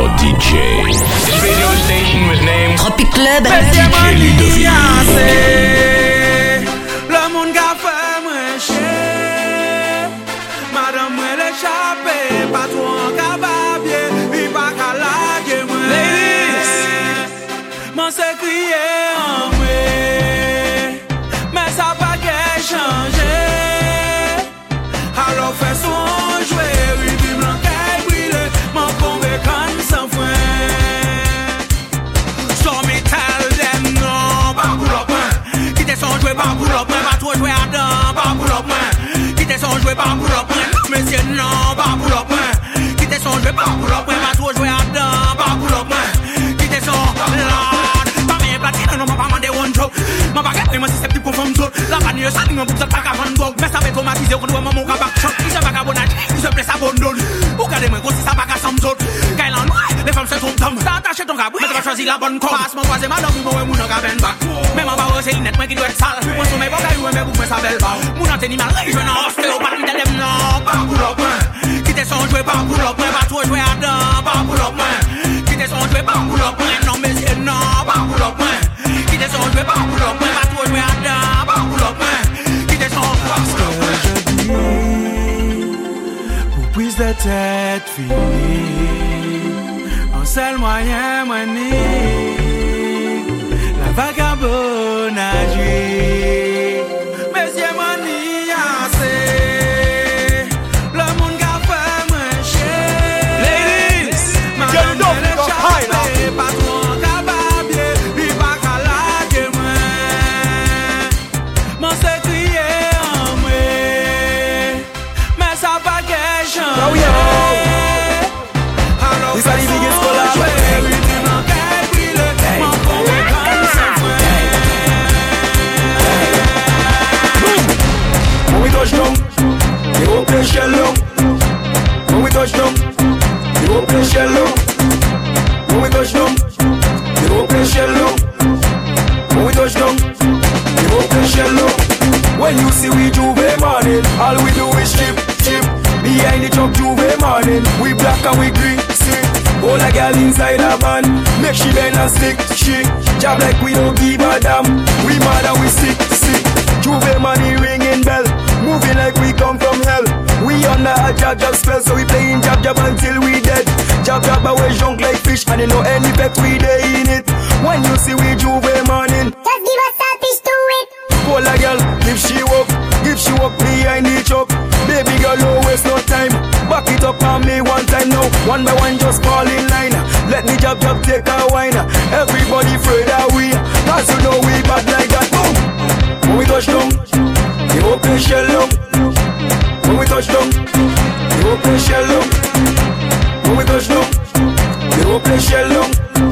your DJ. This radio station was named Tropic Club. DJ Ludovic. Le monde qu'a fait moins cher. Madame moi l'échappé, pas trop en cababier, il pas qu'à laguer moi. Ladies, m'en s'est crié en moi, mais ça pas qu'à changer. Alors fais son jouer, oui, puis m'en qu'à brûler, m'en convaincre sans fin. So me tell them no, pas pour l'opin. Quittez son jouer, pas pour l'opin, pas trop jouer à dents, pas pour l'opin. Quittez son jouer, pas pour l'opin. Monsieur non, pas pour l'opin. Quittez son jouer, pas pour l'opin, pas trop jouer à dents, pas pour l'opin. Quittez son lord. Pas bien platine, non, pas mandé one joke. Ma baguette, moi c'est susceptible pour femme zone. La vanille, ça n'est pas pour ça, pas qu'à vendre drogue. Mais ça va automatiser, on doit maman au cabac choc. Il se va qu'à bonage, il se plaît, ça abandonne. Regardez-moi, gros, si ça va qu'à Samson. Quand il en noie, les femmes se trompent d'homme. T'as attaché ton cabri, mais tu vas choisir la bonne corde. Passe mon voisin, madame, vous m'avez mon cabane back. Même en bas, c'est une net, moi qui doit être sale. Moi, sur mes bagailles, mais vous me savez pas. Mon antenne, mal, je n'en sais pas, mais t'as non, pas pour l'opin. Quittez son jouet, pas pour l'opin, pas trop jouer à dents, pas pour l'opin. Quittez son jouet, pas pour l'opin, non, monsieur, non, pas pour l'opin. Quittez son jouet, pas pour l'opin, pas trop jouer à dents, pas pour l'opin. Quittez son parce que je dis, pour prise de tête finie, un seul moyen, la vagabonde agit. Monsieur, mani, assez. Le monde qu'a fait moins cher. Ladies, madame, elle est chappée, pas trop en cababier, puis pas qu'à laguer moi. M'en s'est crié en moi, mais ça pas qu'à changer. Alors, c'est son jouet, oui, tu m'en qu'à brûler, m'en convaincre sans fin. When we touch down, they open shell long. When we touch down, they open shell long. When we touch down, they open shell long. When we touch down, they open shell long. When you see we Juve morning, all we do is chip, chip. Behind the truck Juve morning, we black and we green, see. All a girl inside a van, make she bend and stick, she. Job like we don't give a damn, we mad and we sick, sick. Juve money ringing bell, moving like we come from hell. We under a jab spell, so we playing jab until we dead. Jab away junk like fish, and you know any bet we day in it. When you see we Juve morning, just give us a fish to it. call a girl, if she walk behind the truck. Baby girl, don't waste no time. Back it up on me one time now. One by one, just fall in line. Let me jab take a wine. Everybody afraid that we, cause you know we bad like that. Boom. When we touch down, the open shell long. When we touch down, the open shell long. When we touch down, the open shell long.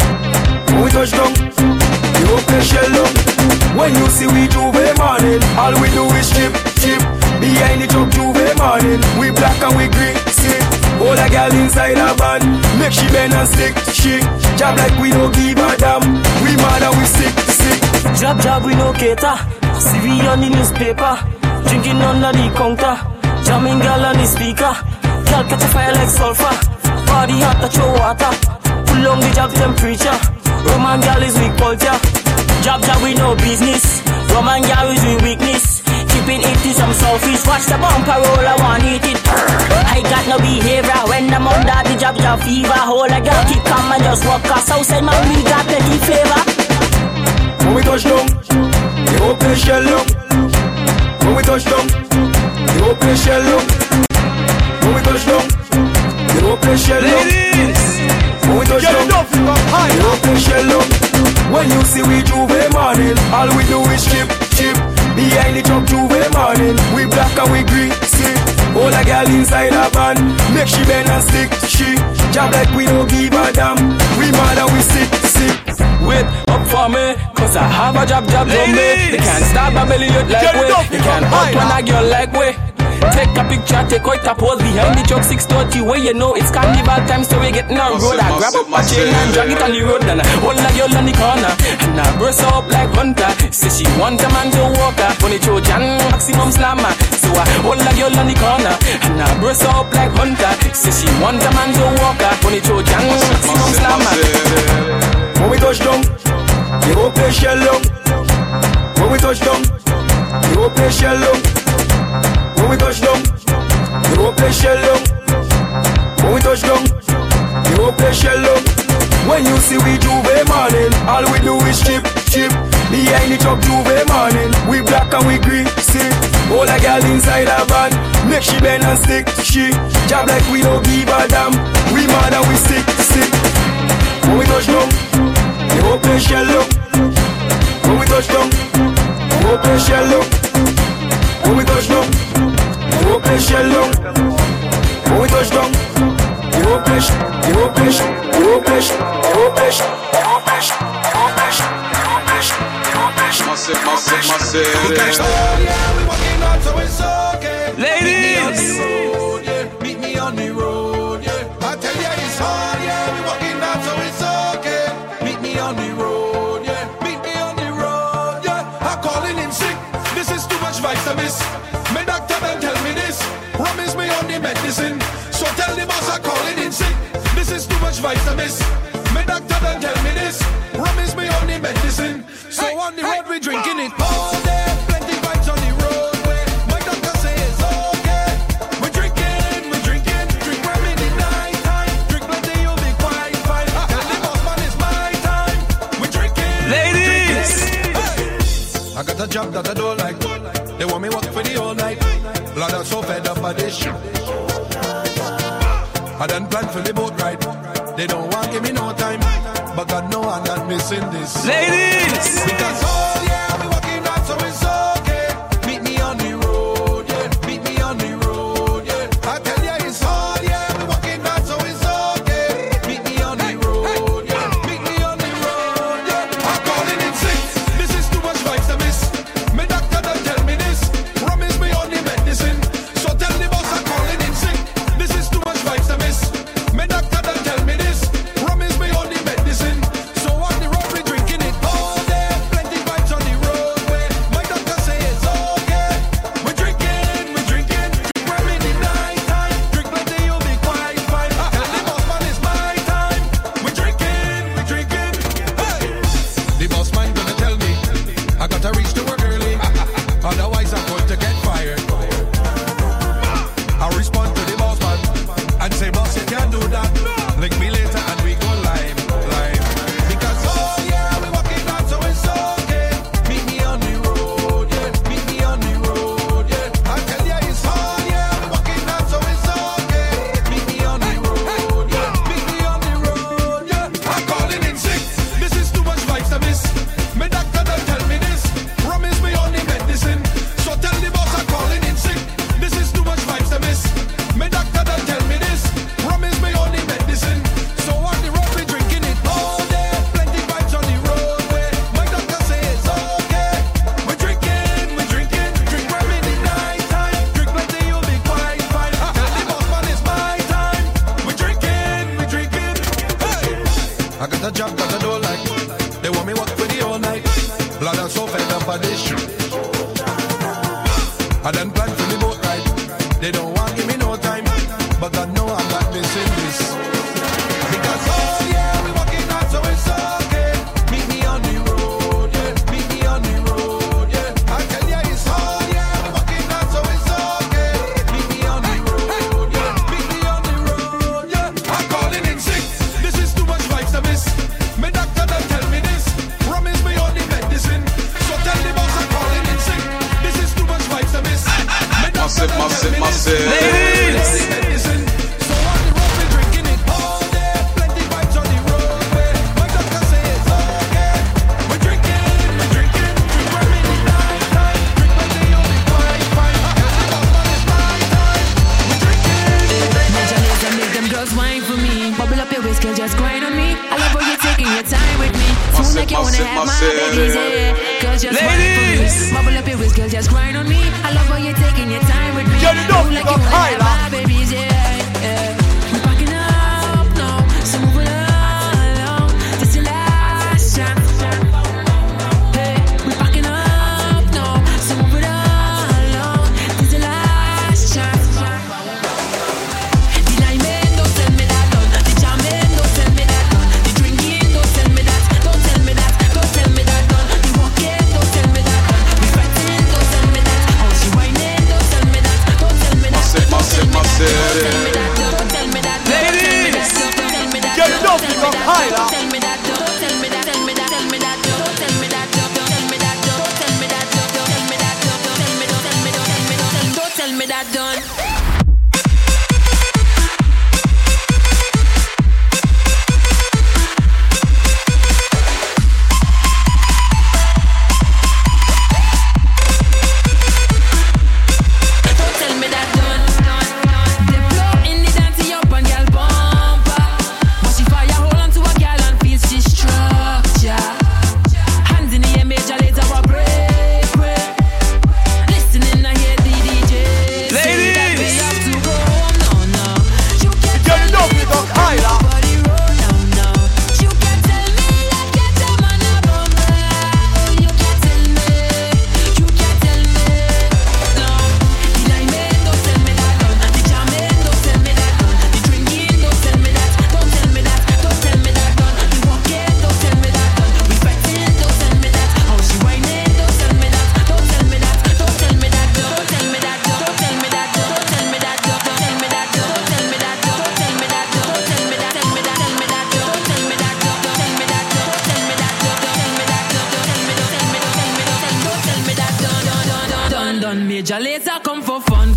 When we touch down, the open shell long. When you see we Juve morning, all we do is chip, chip. Behind the truck Juve morning, we black and we green, see. All a girl inside a van, make she bend and stick, she. Job like we don't give a damn, we mad and we sick, sick. Job we no cater. See we on the newspaper, drinking under the counter, jamming girl on the speaker. Girl catch a fire like sulfur, body hot touch your water. Pull on the job temperature, Roman girl is weak culture. Job we no business, Roman girl is we weakness. Keeping it to some selfish, watch the bumper roll, I want eat it. I got no behavior when I'm under the job fever. Hold a girl keep calm and just walk us outside, man, we got plenty flavor. When we touch down, the open shell long. When we touch down, the open shell long. When we touch down, the open shell long. When we touch down, the open shell long. When you see we Juve morning, all we do is chip, chip. Behind the truck Juve morning, we black and we green, see. All a girl inside a van, make she bend and stick, she. Job like we don't give a damn, we mad and we sick, sick. Wait up for me, cause I have a job on me. They can't stop a belly out like way. They can't hurt when a girl like way. Take a picture, take out a pose behind the truck 630 where you know it's carnival time, so we getting on road. I grab up my chain and drag it on the road, and I hold a girl on the corner, and I burst her up like Hunter. Say she want a man to walk her, funny Trojan, maximum slammer. So I hold a girl on the corner, and I burst her up like Hunter. Say she want a man to walk her, funny Trojan, maximum play shallow. When you see we Juve morning, all we do is chip. Behind the truck Juve morning, we black and we green, see. All a girl inside a van, make she bend and stick. She job like we don't give a damn. We mad and we stick. When we touch down, the whole place shallow. When we touch down, the whole place shallow. When we touch down, the whole place shallow. When we touch down, the whole place, the whole place, the whole place, the whole place, the whole place, the whole place, the whole place, the whole place. Massive. Oh yeah, we walking out, so it's okay. Ladies, Meet me on the road, yeah. I tell ya it's hard, yeah. We walking out, so it's okay. Meet me on the road, yeah. Meet me on the road, yeah. I'm calling in sick. This is too much vitamins. My doctor don't tell me this. Promise me on the medicine. So tell the boss I'm calling in sick. This is too much vitamins. My doctor don't tell me this. Promise me on the medicine. So on the road we drinking it all day. Plenty vibes on the roadway. My doctor say it's okay. We're drinking. Drink rum in the night time. Drink plenty, you'll be quite fine. Tell the boss man it's my time. We're drinking. ladies. I got a job that I don't like. They want me work for the whole night. Lord, I'm so fed up by this shit. I done planned for the boat ride. They don't want give me no time. But God know I'm not missing this. Ladies, Because oh yeah, we walking out, so it's okay. Meet me on the road, yeah. Meet me on the road, yeah. I tell ya it's hard, yeah. We walking out, so it's okay. Meet me on the road, yeah. Meet me on the road, yeah. I'm calling in sick. This is too much vitamins. My doctor don't tell me this. Promise me on the medicine. So tell the boss I'm calling in sick. This is too much vitamins. My doctor don't tell me this. Promise me on the medicine. So on the road we drinking it all day. Plenty vibes on the roadway. My doctor say it's okay. We're drinking. Drink rum in the night time. Drink plenty, you'll be quite fine. Tell the boss man it's my time. We're drinking. Hey. The boss man gonna tell me I gotta reach to work early. Otherwise I'm going to get fired. I respond to the boss man and say, boss, you can't do that. Link me later and we go live. Because oh yeah, we walking out, so it's okay. Meet me on the road, yeah. Meet me on the road, yeah. I tell ya it's hard, yeah. We walking out, so it's okay. Meet me on the road, yeah. Meet me on the road, yeah. I'm calling in sick. This is too much vitamins. My doctor don't tell me this. Promise me on the medicine. So tell the boss I'm calling in sick. This is too much vitamins. My doctor don't tell me this. Promise me on the medicine. So on the road we drinking it all day. Plenty vibes on the roadway. My doctor say it's okay. We're drinking. Drink rum in the night time. Drink plenty, you'll be quite fine. Tell the boss man it's my time. We're drinking. Hey. I got a job that I don't like. They want me work for the whole night. Blood, I'm so fed up by this shit. I done planned for the boat ride. They don't want give me no time. But God know I'm not missing this. Because oh yeah, we walking out, so it's okay. Meet me on the road, yeah. Meet me on the road, yeah. I tell ya it's hard, yeah. We walking out, so it's okay. Meet me on the road, yeah. Meet me on the road, yeah. I'm calling in sick. This is too much vitamins. My doctor don't tell me this. Promise me on the medicine. So tell the boss I'm calling in sick. This is too much vitamins. My doctor don't tell me this. ladies. Medicine. So on the road we drinking it all day. Plenty vibes on the roadway. My doctor say it's okay. We're drinking. Drink rum in the night time. Drink plenty, you'll be quite fine. Tell the boss man it's my time. We're drinking. Major laser make them girls whine for me. Bubble up your waist, girl, just grind on me. I love how you're taking your time with me. Soon like you wanna have my babies, yeah. Girls, just whine for me. Bubble up your waist, girl, just grind on me. I love how you're taking your time with me. Soon like you wanna have my babies, yeah. We're packing up now, so move it along. This your last chance. Hey, we're packing up now, so move it along. This your last chance. The liming, don't tell me that done. The jamming, don't tell me that done. The drinking, don't tell me that. Don't tell me that. Don't tell me that done. The walking, don't tell me that done. The fighting, don't tell me that. All she whining, don't tell me that. Don't tell me that. Don't tell me that. Major Lazer come for fun.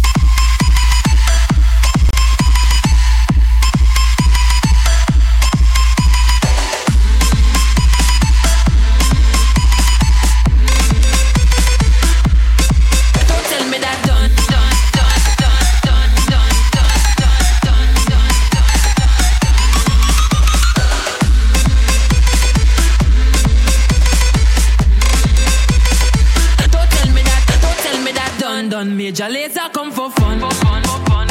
Major Lazer come for fun.